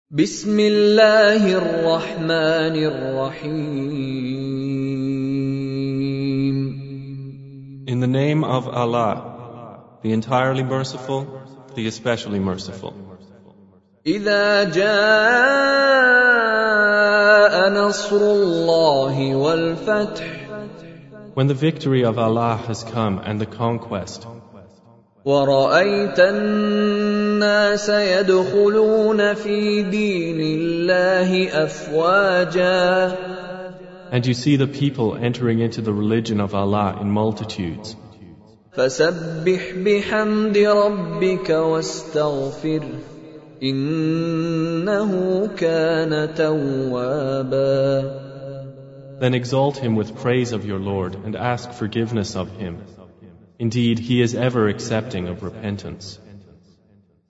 بسم الله الرحمن الرحيم. In the name of Allah, the entirely merciful, the especially merciful. إذا جاء نصر الله والفتح. When the victory of Allah has come and the conquest, ورأيت الناس يدخلون في دين الله أفواجا. and you see the people entering into the religion of Allah in multitudes. فسبح بحمد ربك واستغفره إنه كان توابا. Then exalt him with praise of your Lord and ask forgiveness of him. Indeed, he is ever accepting of repentance.